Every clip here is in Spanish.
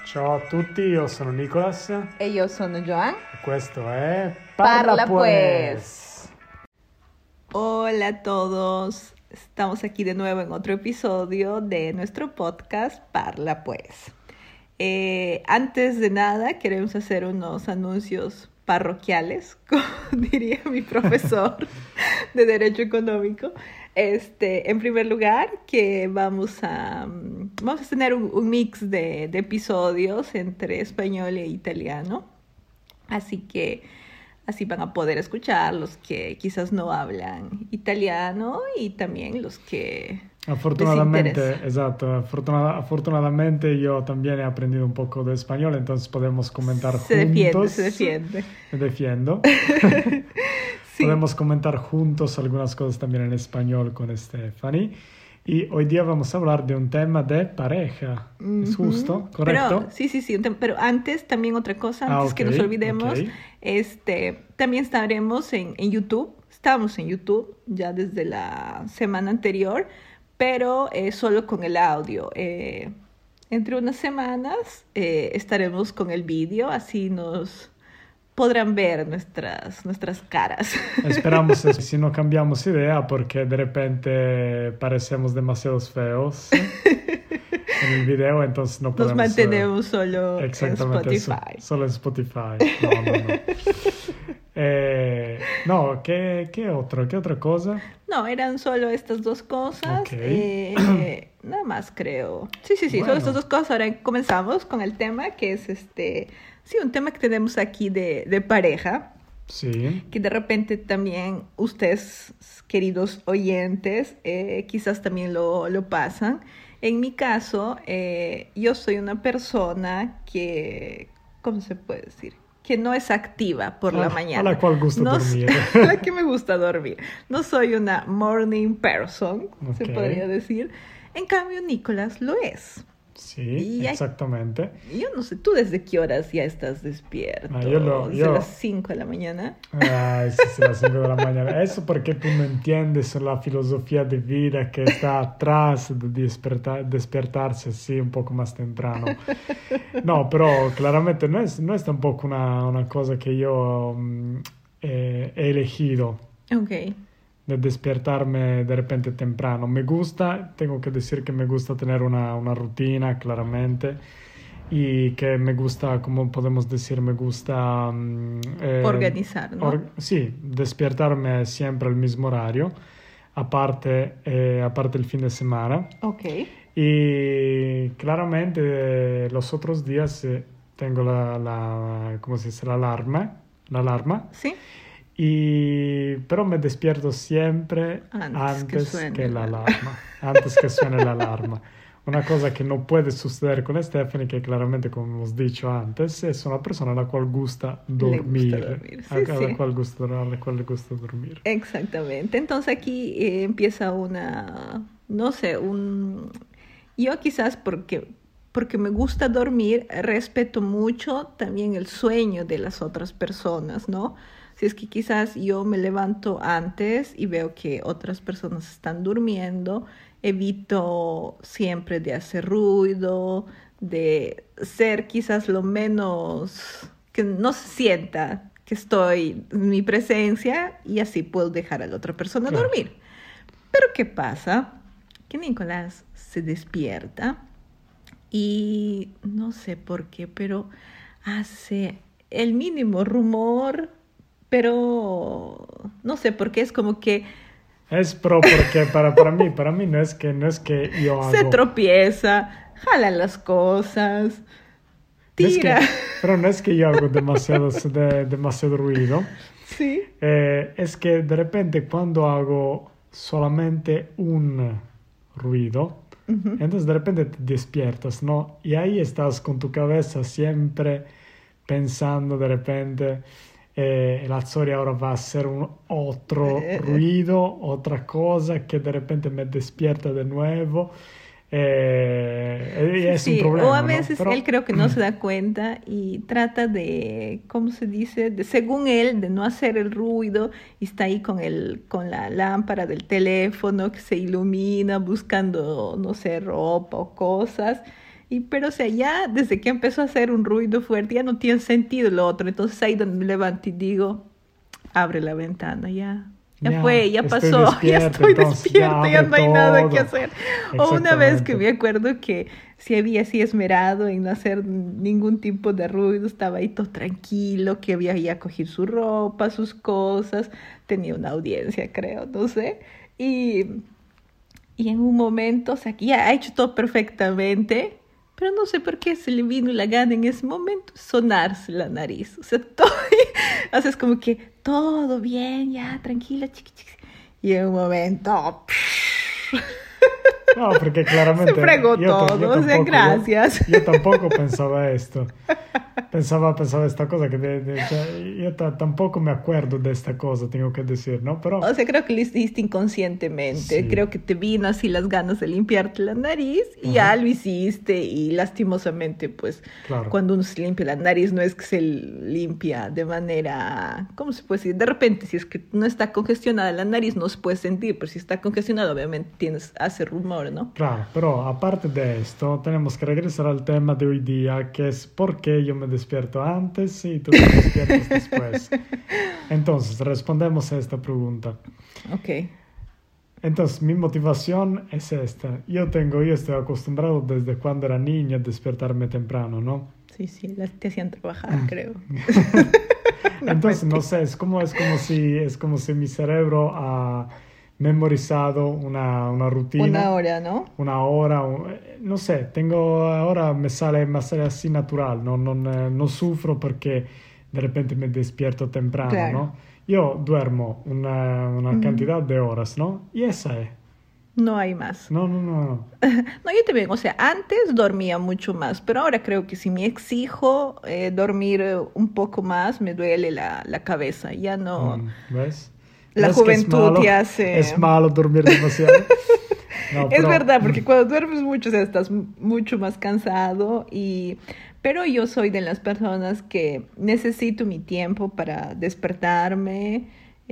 Ciao a tutti, io sono Nicolas E io sono Joan. e questo è Parla Pues. Hola a todos. Estamos aquí de nuevo en otro episodio de nuestro podcast Parla Pues. Antes de nada, queremos hacer unos anuncios parroquiales, como diría mi profesor de Derecho Económico. En primer lugar, que vamos a tener un mix de episodios entre español e italiano. Así que así van a poder escuchar los que quizás no hablan italiano y también los que Afortunadamente, exacto, afortunadamente yo también he aprendido un poco de español, entonces podemos comentar juntos. Se defiende. Me defiendo. Sí. Podemos comentar juntos algunas cosas también en español con Stephanie. Y hoy día vamos a hablar de un tema de pareja. ¿Es justo? ¿Correcto? Pero, sí, pero antes también otra cosa, antes que nos olvidemos, también estaremos en YouTube. Estamos en YouTube ya desde la semana anterior, pero solo con el audio. Entre unas semanas estaremos con el vídeo, así nos podrán ver nuestras caras. Esperamos si no cambiamos idea porque de repente parecemos demasiado feos en el video, entonces no podemos... Nos mantenemos solo en Spotify. Solo en Spotify. No, ¿qué otra cosa? No, eran solo estas dos cosas. Okay. Nada más creo. Sí, Bueno. solo estas dos cosas. Ahora comenzamos con el tema que es un tema que tenemos aquí de pareja. Sí. Que de repente también ustedes, queridos oyentes, quizás también lo pasan. En mi caso, yo soy una persona que, ¿cómo se puede decir? Que no es activa por la mañana. A la cual gusta dormir. A la que me gusta dormir. No soy una morning person, se Ok. podría decir. En cambio, Nicolás lo es. Sí, exactamente. Yo no sé, ¿tú desde qué horas ya estás despierto? ¿Desde las 5 de la mañana? Ay, sí, las 5 de la mañana. Eso porque tú no entiendes la filosofía de vida que está atrás de despertarse así un poco más temprano. No, pero claramente no es tampoco una cosa que yo he elegido. Ok. De despertarme de repente temprano. Me gusta, tengo que decir que me gusta tener una rutina, claramente, y que me gusta, como podemos decir, me gusta... organizar, ¿no? Sí, despertarme siempre al mismo horario, aparte el fin de semana. Ok. Y claramente los otros días tengo ¿cómo se dice? La alarma. Sí. Pero me despierto siempre antes que la alarma. Antes que suene la alarma. Una cosa que no puede suceder con Stephanie, que claramente, como hemos dicho antes, es una persona a la cual gusta dormir. Sí, a la cual le gusta dormir. Exactamente. Entonces aquí empieza yo quizás porque me gusta dormir, respeto mucho también el sueño de las otras personas, ¿no? Si es que quizás yo me levanto antes y veo que otras personas están durmiendo, evito siempre de hacer ruido, de ser quizás lo menos, que no se sienta que estoy en mi presencia y así puedo dejar a la otra persona dormir. Pero ¿qué pasa? Que Nicolás se despierta y no sé por qué, pero hace el mínimo rumor, pero no sé por qué, es como que Porque para mí no es que yo hago... se tropieza, jala las cosas, tira. Pero no es que yo hago demasiado ruido. Sí. Es que de repente cuando hago solamente un ruido, entonces de repente te despiertas, ¿no? Y ahí estás con tu cabeza siempre pensando de repente... la storia ahora va a ser otro ruido, otra cosa que de repente me despierta de nuevo. Es un problema, o a veces, ¿no? Pero... él creo que no se da cuenta y trata de, ¿cómo se dice? Según él, de no hacer el ruido, y está ahí con la lámpara del teléfono que se ilumina buscando, no sé, ropa o cosas. Pero, o sea, ya desde que empezó a hacer un ruido fuerte, ya no tiene sentido lo otro. Entonces ahí donde me levanto y digo, abre la ventana, ya fue, ya pasó, ya estoy despierta, ya no hay nada que hacer. O una vez que me acuerdo que se había así esmerado en no hacer ningún tipo de ruido, estaba ahí todo tranquilo, que había ya cogido su ropa, sus cosas, tenía una audiencia, creo, no sé. Y en un momento, o sea, que ya ha hecho todo perfectamente, pero no sé por qué se le vino la gana en ese momento sonarse la nariz. O sea, todo, haces como que todo bien, ya, tranquila, chiqui. Y en un momento... No, porque claramente... Se fregó todo, o sea, gracias. Yo tampoco pensaba esto. Pensaba esta cosa yo tampoco me acuerdo de esta cosa, tengo que decir, ¿no? Pero... O sea, creo que lo hiciste inconscientemente. Sí. Creo que te vino así las ganas de limpiarte la nariz y ya lo hiciste. Y lastimosamente, pues, claro, cuando uno se limpia la nariz no es que se limpia de manera... ¿Cómo se puede decir? De repente, si es que no está congestionada la nariz, no se puede sentir. Pero si está congestionada, obviamente hace rumor, ¿no? Claro, pero aparte de esto, tenemos que regresar al tema de hoy día, que es por qué yo me despierto antes y tú te despiertas después. Entonces, respondemos a esta pregunta. Ok. Entonces, mi motivación es esta. Yo estoy acostumbrado desde cuando era niño a despertarme temprano, ¿no? Sí, te hacían trabajar, creo. Entonces, no sé, es como si mi cerebro ha memorizado una rutina. Una hora, ¿no? Una hora, no sé, ahora me sale así natural, no sufro porque de repente me despierto temprano, claro, ¿no? Yo duermo una cantidad de horas, ¿no? Y esa es. No hay más. No. No, yo también, o sea, antes dormía mucho más, pero ahora creo que si me exijo dormir un poco más, me duele la cabeza, ya no... ¿Ves? La juventud te hace... Es malo dormir demasiado. No, es verdad, porque cuando duermes mucho, o sea, estás mucho más cansado pero yo soy de las personas que necesito mi tiempo para despertarme.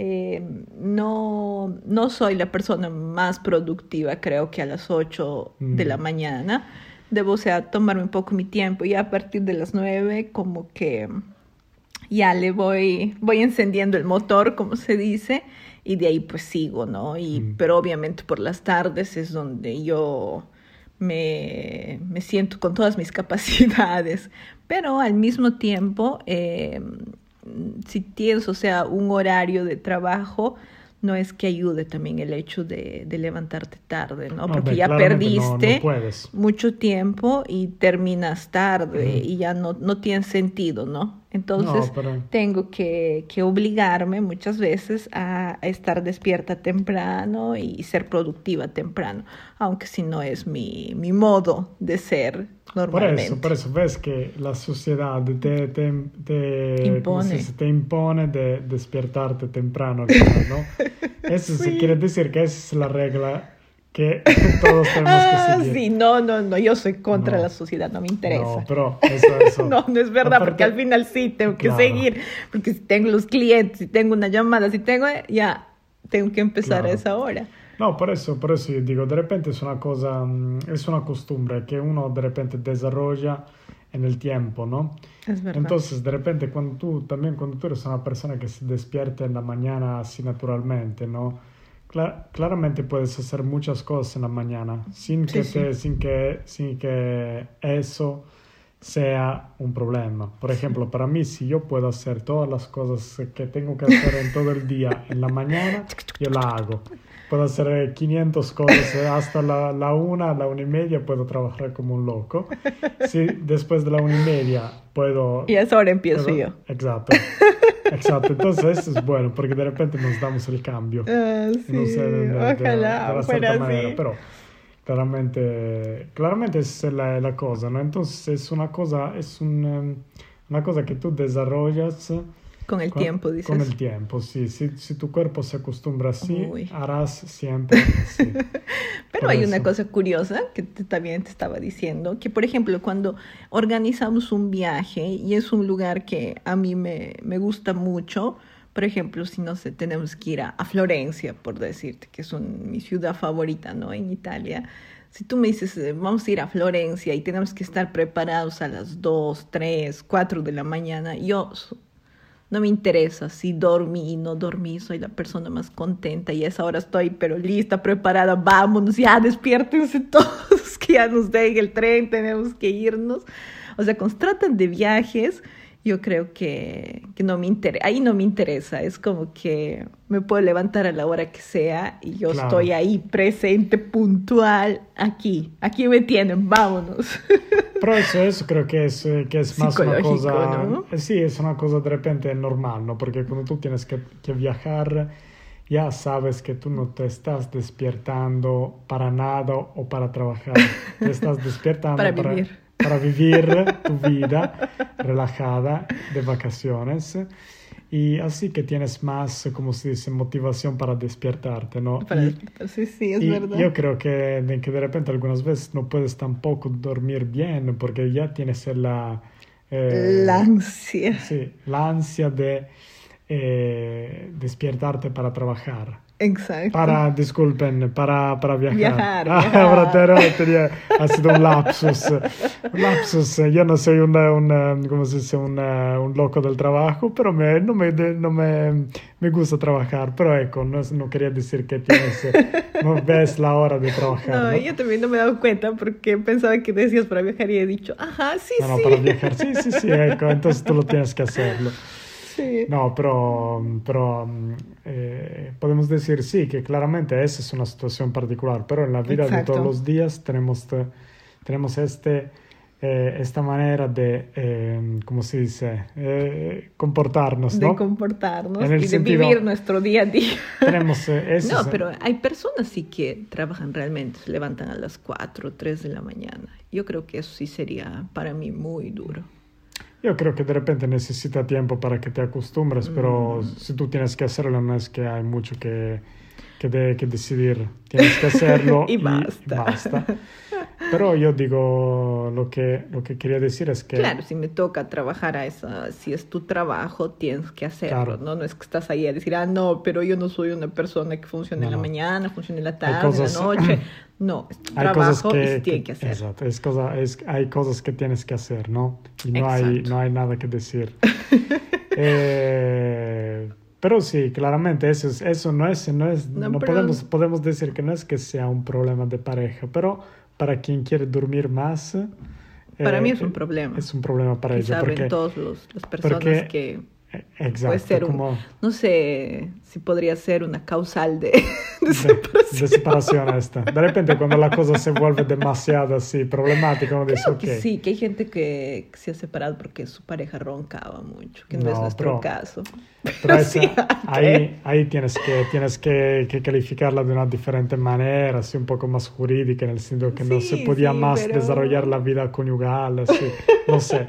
No soy la persona más productiva, creo que a las 8 de la mañana. Debo, o sea, tomarme un poco mi tiempo y a partir de las 9 como que ya le voy encendiendo el motor, como se dice, y de ahí pues sigo, ¿no? Pero obviamente por las tardes es donde yo me siento con todas mis capacidades, pero al mismo tiempo, si tienes, o sea, un horario de trabajo, no es que ayude también el hecho de levantarte tarde, ¿no? Porque ya perdiste mucho tiempo y terminas tarde y ya no tiene sentido, ¿no? Entonces tengo que obligarme muchas veces a estar despierta temprano y ser productiva temprano, aunque si no es mi modo de ser normalmente. Por eso ves que la sociedad te impone de despertarte temprano, ¿no? Eso sí quiere decir que esa es la regla que todos tenemos que seguir. Sí, no, yo soy contra la sociedad, no me interesa. No, pero eso. No es verdad, aparte, porque al final sí tengo que seguir, porque si tengo los clientes, si tengo una llamada, ya tengo que empezar a esa hora. No, por eso yo digo, de repente es una costumbre que uno de repente desarrolla en el tiempo, ¿no? Es verdad. Entonces, de repente, cuando tú eres una persona que se despierta en la mañana así naturalmente, ¿no? Claramente puedes hacer muchas cosas en la mañana sin que eso sea un problema. Por ejemplo, para mí, si yo puedo hacer todas las cosas que tengo que hacer en todo el día en la mañana, yo la hago. Puedo hacer 500 cosas hasta la 1:30 puedo trabajar como un loco. Si después de la 1:30 puedo... Y a esa hora empiezo yo. Exacto. Entonces eso es bueno porque de repente nos damos el cambio. Sí, no sé, ojalá fuera así. Pero claramente esa es la cosa, ¿no? Entonces es una cosa que tú desarrollas con el tiempo, dices. Con el tiempo, sí. Si tu cuerpo se acostumbra así, harás siempre así. Pero hay una cosa curiosa que también te estaba diciendo, que por ejemplo cuando organizamos un viaje y es un lugar que a mí me gusta mucho, por ejemplo, si no sé, tenemos que ir a Florencia, por decirte, que es mi ciudad favorita, ¿no? En Italia. Si tú me dices, vamos a ir a Florencia y tenemos que estar preparados a las 2, 3, 4 de la mañana, no me interesa si dormí, no dormí, soy la persona más contenta y a esa hora estoy, pero lista, preparada, vámonos, ya despiértense todos, que ya nos deje el tren, tenemos que irnos. O sea, cuando se tratan de viajes, yo creo que no me interesa, ahí no me interesa, es como que me puedo levantar a la hora que sea y yo Claro. estoy ahí presente, puntual, aquí me tienen, vámonos. Pero eso creo que es más una Psicológico, cosa, ¿no? sí, es una cosa de repente normal, ¿no? Porque cuando tú tienes que viajar, ya sabes que tú no te estás despertando para nada o para trabajar, te estás despertando Para vivir. para vivir tu vida relajada de vacaciones. Y así que tienes más, como se dice, motivación para despertarte, ¿no? Para despertarse, sí, es Y verdad. yo creo que de repente algunas veces no puedes tampoco dormir bien porque ya tienes La ansia. sí, la ansia de despertarte para trabajar. Exacto. Disculpen, para viajar. Viajar. Ahora ha sido un lapsus. Un lapsus. Yo no soy ¿cómo se dice? Un loco del trabajo, pero no me gusta trabajar. Pero no quería decir que no ves la hora de trabajar. No, ¿no? yo también no me he dado cuenta porque pensaba que decías para viajar y he dicho, ajá, sí, No, sí. para viajar. Sí, entonces tú lo tienes que hacerlo. Sí. No, pero podemos decir sí, que claramente esa es una situación particular, pero en la vida de Exacto. todos los días tenemos esta manera de, ¿cómo se dice? Comportarnos, De ¿no? comportarnos En el y de sentido- vivir nuestro día a día. Tenemos eso. No, pero hay personas sí que trabajan realmente, se levantan a las 4, 3 de la mañana. Yo creo que eso sí sería para mí muy duro. Yo creo que de repente necesita tiempo para que te acostumbres, pero si tú tienes que hacerlo, no es que hay mucho que decidir. Tienes que hacerlo Y basta. basta. Pero yo digo, lo que quería decir es que... Claro, si me toca trabajar si es tu trabajo, tienes que hacerlo, Claro. ¿no? No es que estás ahí a decir, no, pero yo no soy una persona que funcione en la No. mañana, funcione en la Hay tarde, cosas- en la noche. No, es tu Hay cosas trabajo y se tiene que hacer. Exacto, hay cosas que tienes que hacer, ¿no? Y no Exacto. hay nada que decir. Pero sí, claramente eso no pero- podemos decir que no es que sea un problema de pareja, pero para quien quiere dormir más, Para mí es un problema. es un problema para Y ella, saben porque todas las personas porque- que exacto, puede ser como no sé si podría ser una causal de de separación esta. De repente cuando la cosa se vuelve demasiado así problemática, uno dice, Creo ok. que sí, que hay gente que se ha separado porque su pareja roncaba mucho, que no es No, nuestro pero- caso. Pero Sí, ahí tienes que calificarla de una diferente manera, así un poco más jurídica, en el sentido que no Sí, se podía sí, más pero- desarrollar la vida conyugal, así, no sé.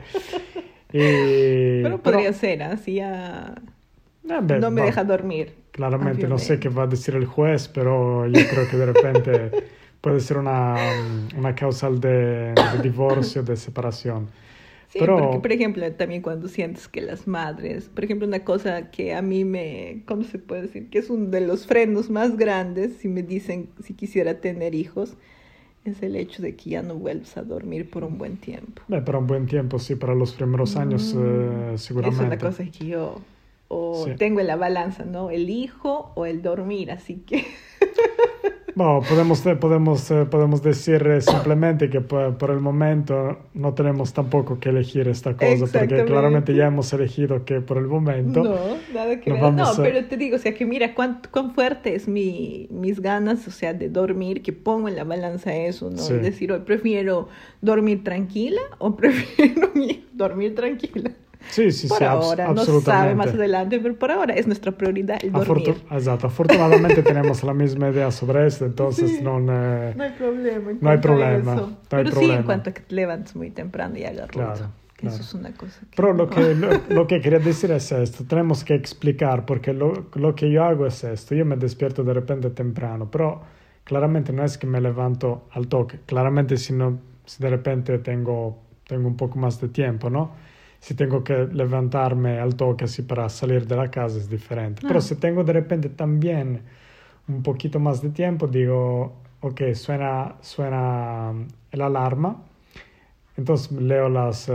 Pero podría ser, así ya no me deja dormir. Claramente no sé obviamente. qué va a decir el juez, pero yo creo que de repente puede ser una causal de divorcio, de separación. Sí, Pero- porque, por ejemplo, también cuando sientes que las madres, por ejemplo, una cosa que a mí ¿cómo se puede decir? Que es uno de los frenos más grandes si me dicen si quisiera tener hijos, es el hecho de que ya no vuelves a dormir por un buen tiempo. Para un buen tiempo, sí, para los primeros años seguramente. Es una cosa que yo Sí. tengo en la balanza, ¿no? El hijo o el dormir, así que... Bueno, podemos decir simplemente que por el momento no tenemos tampoco que elegir esta cosa, porque Exactamente. claramente ya hemos elegido que por el momento... No, nada que nos ver. No, vamos a- pero te digo, o sea, que mira cuán fuerte es mis ganas, o sea, de dormir, que pongo en la balanza eso, ¿no? Sí. Es decir, hoy prefiero dormir tranquila o prefiero dormir tranquila. Sí, Por ahora, no absolutamente. sabe más adelante, pero por ahora es nuestra prioridad el dormir. Exacto, afortunadamente tenemos la misma idea sobre esto, entonces Sí. no... No hay problema. en No hay cuanto a problema, eso. no hay Pero sí, problema. en cuanto a que te levantes muy temprano y hagas ruido. Claro. Eso es una cosa que... Pero lo que quería decir es esto, tenemos que explicar, porque lo que yo hago es esto, yo me despierto de repente temprano, pero claramente no es que me levanto al toque, claramente si de repente tengo un poco más de tiempo, ¿no? Si tengo que levantarme al toque así para salir de la casa es diferente, pero si tengo de repente también un poquito más de tiempo, digo, ok, suena el alarma. Entonces leo las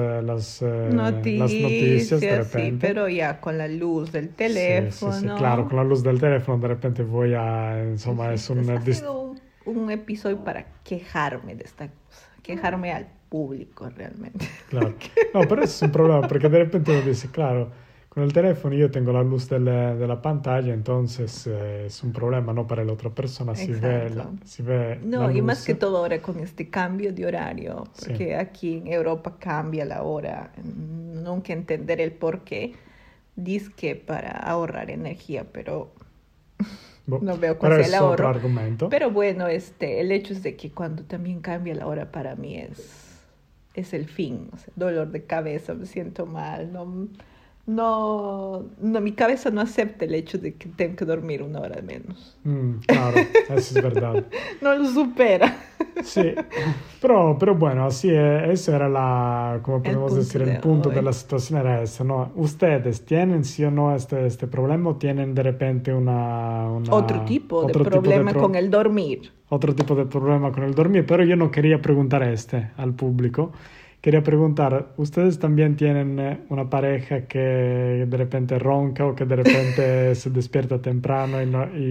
noticias de repente. Sí, pero ya con la luz del teléfono. Sí, claro, con la luz del teléfono de repente voy a, insomma, es un... Ha sido un episodio para quejarme de esta cosa, quejarme al público realmente. Claro, no, pero es un problema, porque de repente uno dice, claro, con el teléfono yo tengo la luz de la pantalla, entonces es un problema, ¿no? Para la otra persona si ve No, la y luz. más que todo ahora con este cambio de horario, porque aquí en Europa cambia la hora, nunca entender el por qué, dizque para ahorrar energía, pero no veo cuál sea el ahorro. Otro argumento. Pero bueno, el hecho es de que cuando también cambia la hora para mí es el fin, o sea, dolor de cabeza, me siento mal, no, mi cabeza no acepta el hecho de que tengo que dormir 1 hora menos. Claro, eso es verdad. No lo supera. Sí, pero bueno, así eso era como podemos decir, el punto de la situación era ese, ¿no? ¿Ustedes tienen sí o no este problema o tienen de repente otro tipo de problema con el dormir? Otro tipo de problema con el dormir, pero yo no quería preguntar al público. Quería preguntar, ¿ustedes también tienen una pareja que de repente ronca o que de repente se despierta temprano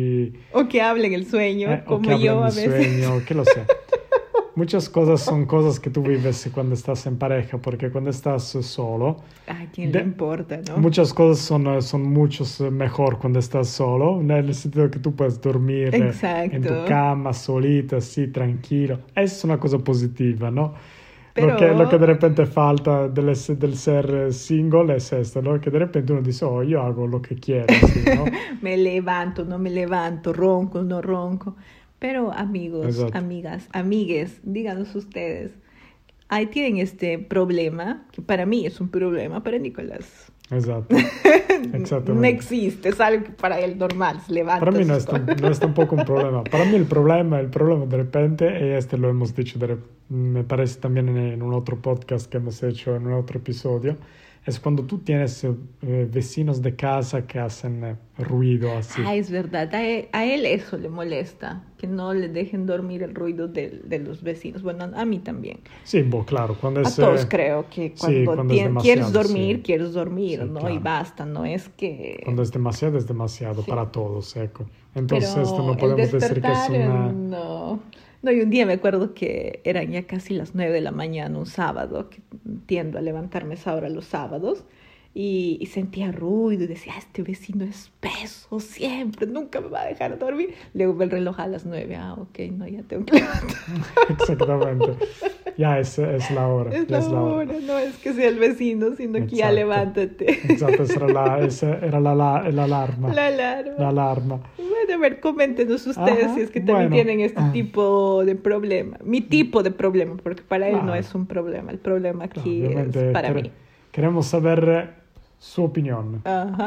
o que habla en el sueño, como yo a veces? Sueño, que lo sé. Muchas cosas son cosas que tú vives cuando estás en pareja, porque cuando estás solo... ¿A quién le importa, no? Muchas cosas son mucho mejor cuando estás solo, en el sentido que tú puedes dormir en tu cama, solita, así, tranquilo. Es una cosa positiva, ¿no? Pero... Lo que de repente falta del ser single es esto, ¿no? Que de repente uno dice, yo hago lo que quiero, ¿sí, no? Me levanto, no me levanto, ronco, no ronco. Pero amigos, Exacto. amigas, amigues, díganos ustedes, ahí tienen este problema, que para mí es un problema, para Nicolás. Exacto. Exactamente. No existe, es algo que para él normal, se levanta. Para mí no es tampoco un problema. Para mí el problema de repente, y lo hemos dicho, me parece también en un otro podcast que hemos hecho, en un otro episodio, es cuando tú tienes vecinos de casa que hacen ruido así. Es verdad, a él eso le molesta, que no le dejen dormir el ruido de los vecinos. Bueno, a mí también. Sí, claro. Cuando a todos creo que cuando quieres dormir, quieres dormir, sí, ¿no? Claro. Y basta, no es que... Cuando es demasiado sí. Para todos, Entonces pero esto no podemos decir que es una... No, y un día me acuerdo que eran ya casi las 9 de la mañana, un sábado, que tiendo a levantarme a esa hora los sábados, y sentía ruido y decía, este vecino es peso siempre, nunca me va a dejar dormir. Luego ve el reloj a las 9, ok, no, ya tengo que levantar. Exactamente, ya es la hora. Es la hora, no es que sea el vecino, sino que ya levántate. Exacto, esa era la alarma. La alarma. Bueno, a ver, coméntenos ustedes si es que también tienen este tipo de problema. Mi tipo de problema, porque para él no es un problema, el problema aquí es para mí. Queremos saber su opinión.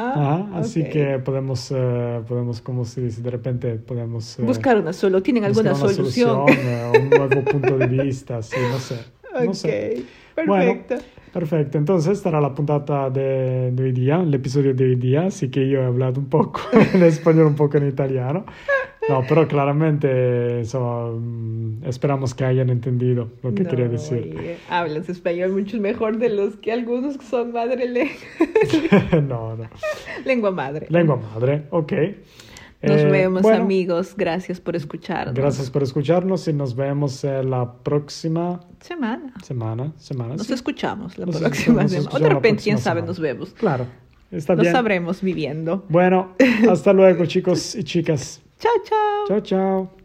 Así que podemos, como se dice, de repente podemos... buscar una solución. ¿Tienen alguna solución? Un nuevo punto de vista, sí, no sé. No sé. Perfecto. Bueno, perfecto. Entonces, esta era la puntata de hoy día, el episodio de hoy día, así que yo he hablado un poco en español, un poco en italiano. No, pero claramente esperamos que hayan entendido lo que quería decir. Oye, hablas español mucho mejor de los que algunos que son madre lengua. No. Lengua madre. Lengua madre, ok. Nos vemos, amigos. Gracias por escucharnos. Gracias por escucharnos y nos vemos la próxima semana. Nos sí. escuchamos la próxima semana. O de repente, quién sabe, nos vemos. Claro, está bien. Lo sabremos viviendo. Bueno, hasta luego, chicos y chicas. Chao, chao. Chao, chao.